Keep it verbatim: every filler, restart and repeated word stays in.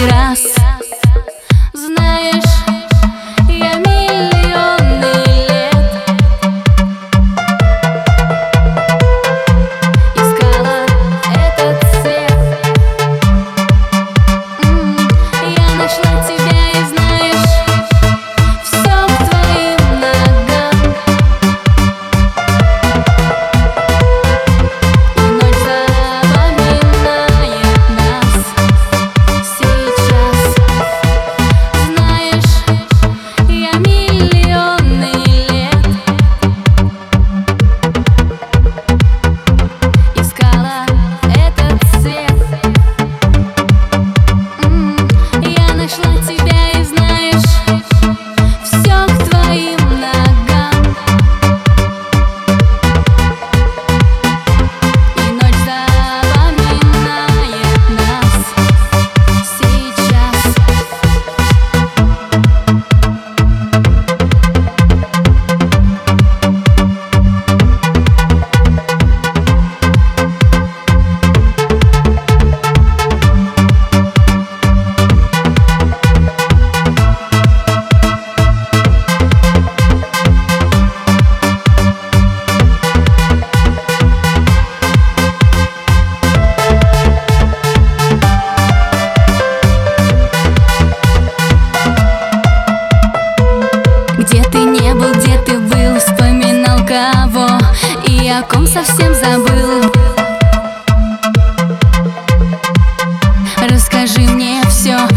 первый раз. Знаешь, я миллионы лет искала этот цвет. М-м, я нашла тебя, и знаешь, все к твоим ногам. И ночь запоминает нас сейчас. Знаешь, я миллионы лет искала этот цвет. М-м, я нашла тебя, и знаешь, все к твоим ногам. И ночь запоминает нас сейчас. Где ты не был, где ты был, вспоминал кого и о ком совсем забыл. Расскажи мне все,